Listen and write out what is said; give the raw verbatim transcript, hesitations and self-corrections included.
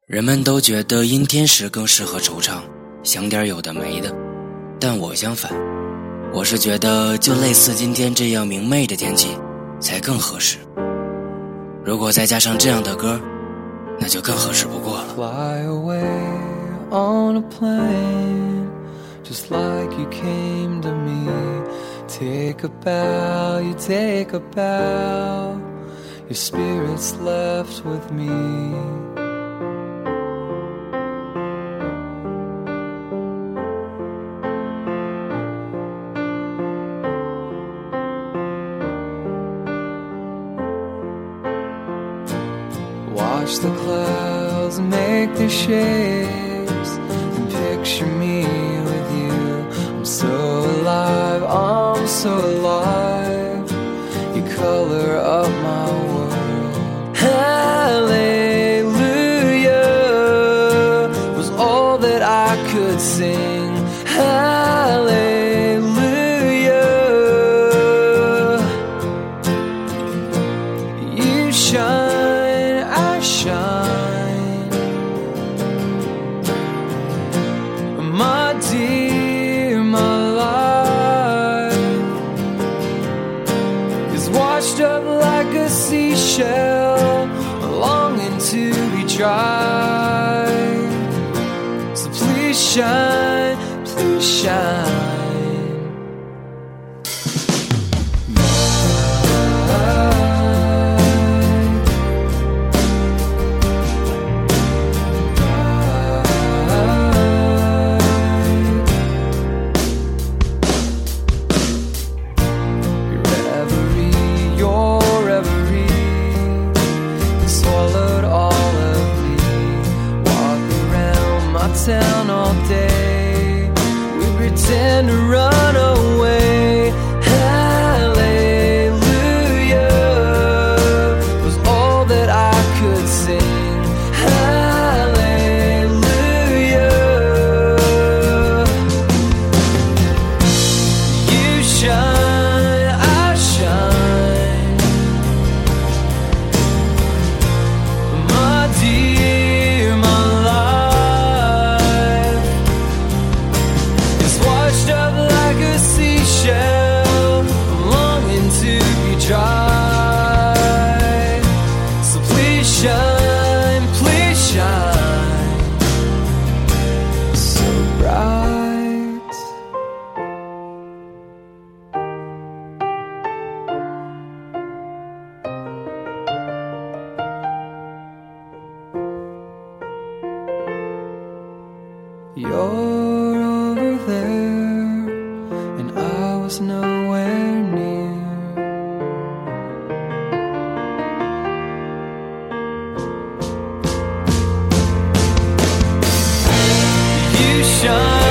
人们都觉得阴天时更适合惆怅，想点有的没的，但我相反，我是觉得就类似今天这样明媚的天气才更合适。如果再加上这样的歌，那就更合适不过了。 Fly away on a plane, just like you came to me. Take a bow, you take a bow, your spirit's left with me. Watch the clouds make their shapes and picture me with you. I'm so alive, I'm so alive. You color up my world. Hallelujah was all that I could sing. Hallelujah. You shine, I shine, my dear, my life is washed up like a seashell, longing to be dry. So please shine, please shine. Town all day, we pretend to run away. Hallelujah was all that I could sing. Hallelujah. You shine, I shine, my dear, my seashell, longing to be dry. So please shine, please shine, so bright. You're over there, I was nowhere near. You shine.